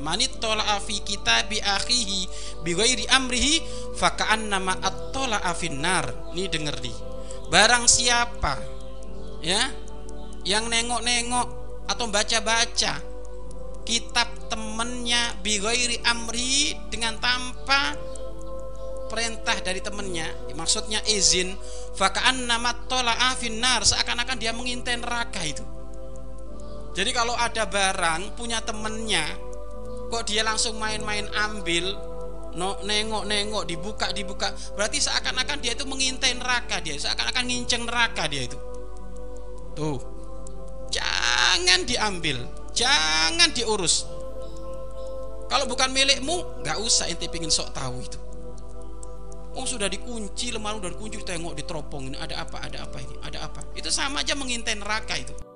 Manittola'a fi kitabi akhihi bighairi amrihi faka'annama attola'a finnar. Nih denger nih. Barang siapa ya yang nengok-nengok atau baca-baca kitab temennya bighairi amri, dengan tanpa perintah dari temennya, maksudnya izin, faka'annama attola'a finnar, seakan-akan dia mengintai neraka itu. Jadi kalau ada barang punya temennya, kok dia langsung main-main ambil, nengok-nengok, dibuka, berarti seakan-akan dia itu mengintai neraka, dia seakan-akan nginceng neraka dia itu. Tuh, jangan diambil, jangan diurus. Kalau bukan milikmu, nggak usah ente pingin sok tahu itu. Oh sudah dikunci, lemari udah dikunci, tengok diteropong, ini ada apa ini, ada apa? Itu sama aja mengintai neraka itu.